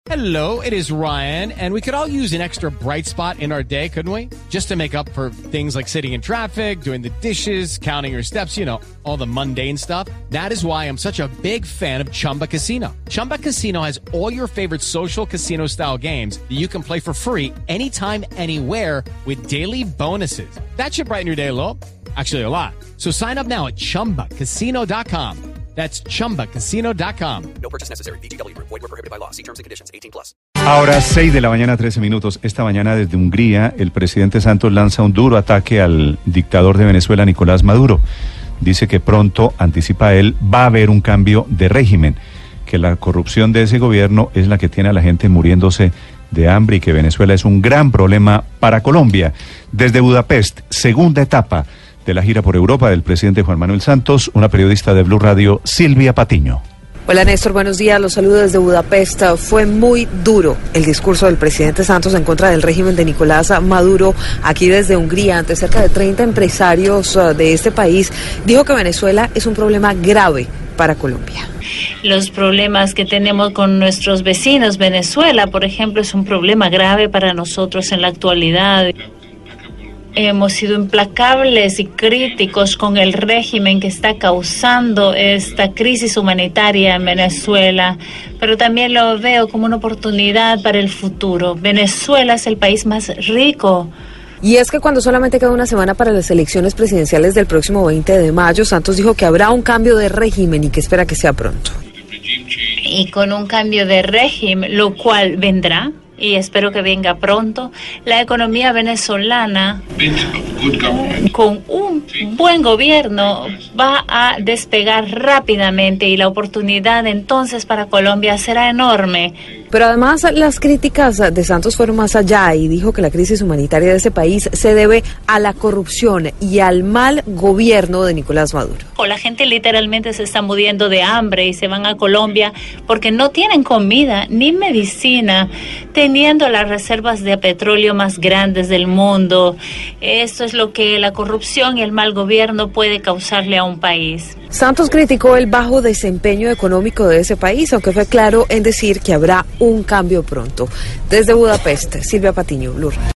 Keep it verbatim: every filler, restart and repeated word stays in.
Hello, it is Ryan, and we could all use an extra bright spot in our day, couldn't we? Just to make up for things like sitting in traffic, doing the dishes, counting your steps, you know, all the mundane stuff. That is why I'm such a big fan of Chumba Casino. Chumba Casino has all your favorite social casino-style games that you can play for free anytime, anywhere with daily bonuses. That should brighten your day a little. Actually, a lot. So sign up now at chumba casino dot com. That's chumba casino dot com. No purchase necessary. V G W Group. Void where prohibited by law. See terms and conditions. eighteen plus. Ahora seis de la mañana, trece minutos. Esta mañana desde Hungría, el presidente Santos lanza un duro ataque al dictador de Venezuela, Nicolás Maduro. Dice que pronto, anticipa él, va a haber un cambio de régimen, que la corrupción de ese gobierno es la que tiene a la gente muriéndose de hambre y que Venezuela es un gran problema para Colombia. Desde Budapest, segunda etapa de la gira por Europa del presidente Juan Manuel Santos, una periodista de Blue Radio, Silvia Patiño. Hola Néstor, buenos días, los saludo desde Budapest. Fue muy duro el discurso del presidente Santos en contra del régimen de Nicolás Maduro aquí desde Hungría, ante cerca de treinta empresarios de este país. Dijo que Venezuela es un problema grave para Colombia. Los problemas que tenemos con nuestros vecinos, Venezuela, por ejemplo, es un problema grave para nosotros en la actualidad. Hemos sido implacables y críticos con el régimen que está causando esta crisis humanitaria en Venezuela, pero también lo veo como una oportunidad para el futuro. Venezuela es el país más rico. Y es que cuando solamente queda una semana para las elecciones presidenciales del próximo veinte de mayo, Santos dijo que habrá un cambio de régimen y que espera que sea pronto. Y con un cambio de régimen, lo cual vendrá, y espero que venga pronto, la economía venezolana, con un buen gobierno, va a despegar rápidamente y la oportunidad entonces para Colombia será enorme. Pero además las críticas de Santos fueron más allá y dijo que la crisis humanitaria de ese país se debe a la corrupción y al mal gobierno de Nicolás Maduro. La gente literalmente se está muriendo de hambre y se van a Colombia porque no tienen comida ni medicina, teniendo las reservas de petróleo más grandes del mundo. Esto es lo que la corrupción y el mal gobierno puede causarle a un país. Santos criticó el bajo desempeño económico de ese país, aunque fue claro en decir que habrá un cambio pronto. Desde Budapest, Silvia Patiño, Blue Radio.